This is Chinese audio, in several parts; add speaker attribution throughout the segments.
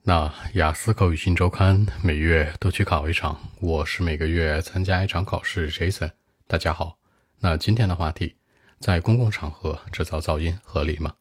Speaker 1: 那雅思口语新周刊每月都去考一场，我是每个月参加一场考试 Jason。 大家好，那今天的话题，在公共场合制造噪音合理吗？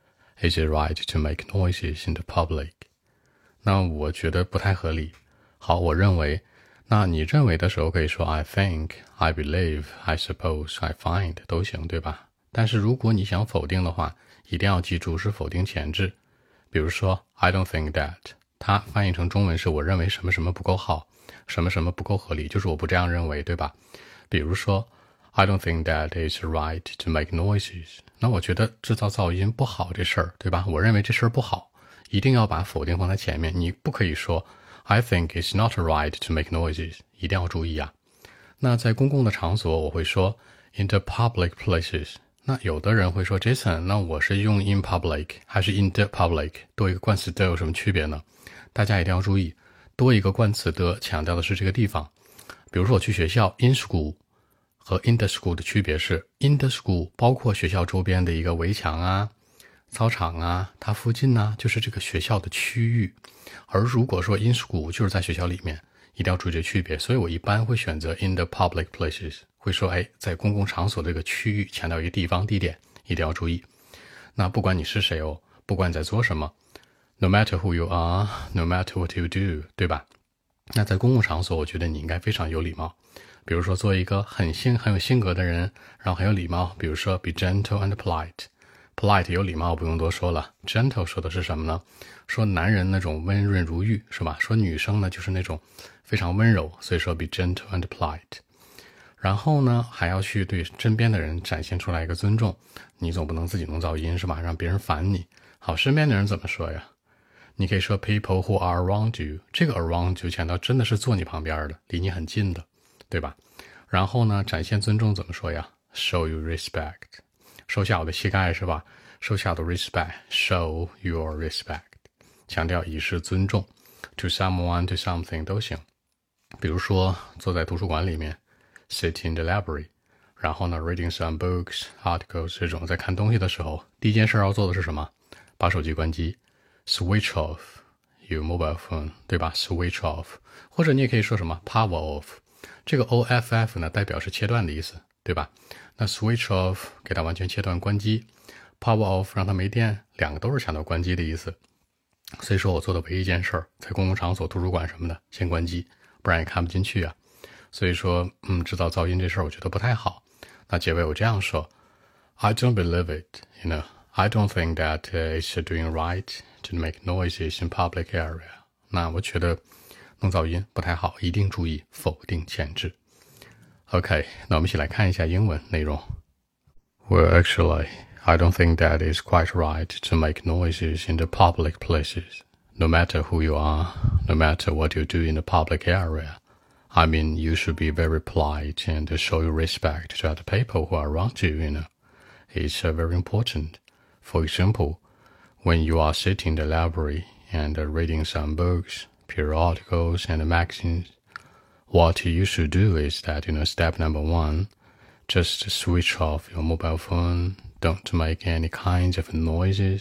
Speaker 1: Is it right to make noises in the public？ 那我觉得不太合理。好，我认为，那你认为的时候可以说 I think, I believe, I suppose, I find 都行，对吧？但是如果你想否定的话，一定要记住是否定前置。比如说 I don't think that， 它翻译成中文是我认为什么什么不够好，什么什么不够合理，就是我不这样认为，对吧？比如说 I don't think that it's right to make noises， 那我觉得制造噪音不好这事儿，对吧？我认为这事儿不好，一定要把否定放在前面，你不可以说 I think it's not right to make noises， 一定要注意啊。那在公共的场所我会说 in the public places，那有的人会说 Jason， 那我是用 in public 还是 in the public， 多一个冠词的有什么区别呢？大家一定要注意，多一个冠词的强调的是这个地方。比如说我去学校 in school 和 in the school 的区别是 in the school 包括学校周边的一个围墙啊、操场啊，它附近呢就是这个学校的区域。而如果说 in school 就是在学校里面，一定要注意这区别。所以我一般会选择 in the public places，会说在公共场所这个区域，强调一个地方地点，一定要注意。那不管你是谁哦，不管你在做什么 no matter who you are, no matter what you do， 对吧？那在公共场所我觉得你应该非常有礼貌。比如说做一个很有性格的人，然后很有礼貌，比如说 be gentle and polite 有礼貌不用多说了， gentle 说的是什么呢？说男人那种温润如玉，是吧？说女生呢就是那种非常温柔，所以说 be gentle and polite。然后呢，还要去对身边的人展现出来一个尊重，你总不能自己弄噪音是吧？让别人烦你。好，身边的人怎么说呀？你可以说 people who are around you， 这个 around 就强调真的是坐你旁边的，离你很近的，对吧？然后呢，展现尊重怎么说呀？ show you respect， 收下我的膝盖是吧？收下我的 respect， show your respect， 强调以示尊重， to someone to something 都行。比如说坐在图书馆里面sit in the library， 然后呢 reading some books, articles， 这种在看东西的时候，第一件事要做的是什么？把手机关机 switch off your mobile phone， 对吧？ switch off， 或者你也可以说什么 power off， 这个 off 呢代表是切断的意思，对吧？那 switch off 给它完全切断关机， power off 让它没电，两个都是强调关机的意思。所以说我做的唯一一件事在公共场所图书馆什么的先关机，不然也看不进去啊。所以说制造噪音这事儿我觉得不太好。那结尾我这样说 I don't believe it, I don't think that it's doing right to make noises in public area。 那我觉得弄噪音不太好，一定注意否定前置。 OK， 那我们一起来看一下英文内容。 Well, actually, I don't think that it's quite right to make noises in the public places, no matter who you are, no matter what you do in the public area.I mean, you should be very polite and show your respect to other people who are around you, It's very important. For example, when you are sitting in the library and reading some books, periodicals, and magazines, what you should do is that, step number one, just switch off your mobile phone. Don't make any kinds of noises.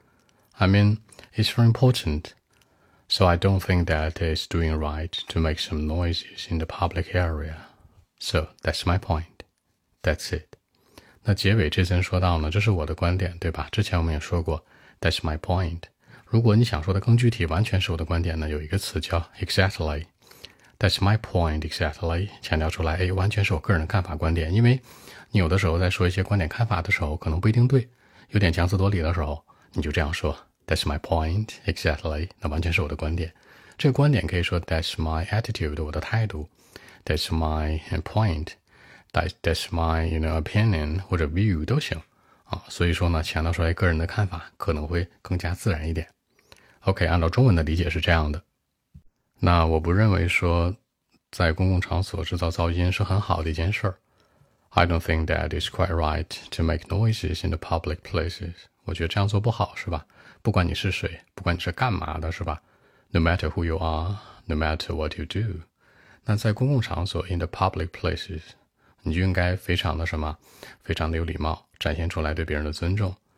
Speaker 1: I mean, it's very important.So I don't think that it's doing right to make some noises in the public area. So that's my point. That's it. 那结尾这层说到呢，这是我的观点，对吧？之前我们也说过 That's my point. 如果你想说的更具体，完全是我的观点呢，有一个词叫 exactly. That's my point exactly. 强调出来，完全是我个人的看法观点。因为你有的时候在说一些观点看法的时候，可能不一定对，有点强词夺理的时候，你就这样说That's my point, exactly. 那完全是我的观点。这个观点可以说 That's my attitude, 我的态度。That's my point. That's my opinion 或者 view 都行啊。所以说呢，强调出来个人的看法可能会更加自然一点。OK， 按照中文的理解是这样的。那我不认为说在公共场所制造噪音是很好的一件事儿。I don't think that it's quite right to make noises in the public places. 我觉得这样做不好，是吧？不管你是谁，不管你是干嘛的，是吧？ No matter who you are, no matter what you do。 那在公共场所 in the public places， 你就应该非常的什么？非常的有礼貌，展现出来对别人的尊重。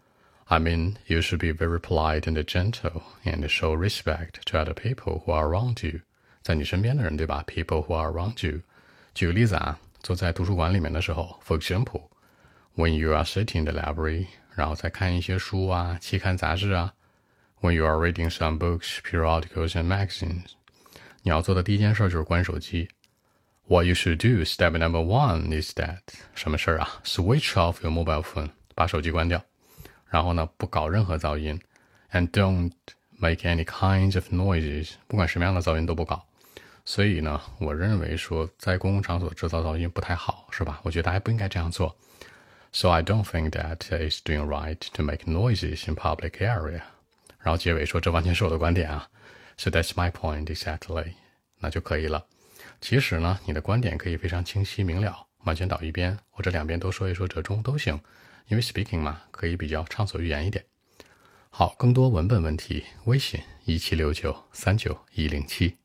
Speaker 1: I mean, you should be very polite and gentle and show respect to other people who are around you. 在你身边的人，对吧？ People who are around you. 举个例子啊，坐在图书馆里面的时候 ，For example, when you are sitting in the library, 然后再看一些书啊、期刊杂志啊。When you are reading some books, periodicals and magazines. 你要做的第一件事就是关手机。What you should do, step number one, is that 什么事儿啊 ？Switch off your mobile phone. 把手机关掉。然后呢，不搞任何噪音 ，and don't make any kinds of noises， 不管什么样的噪音都不搞。所以呢，我认为说在公共场所制造噪音不太好，是吧？我觉得大家不应该这样做。So I don't think that it's doing right to make noises in public area。然后结尾说这完全是我的观点啊。So that's my point exactly。那就可以了。其实呢，你的观点可以非常清晰明了，完全倒一边，或者两边都说一说折中都行。因为 speaking 嘛，可以比较畅所欲言一点。好，更多文本问题，微信1769391107。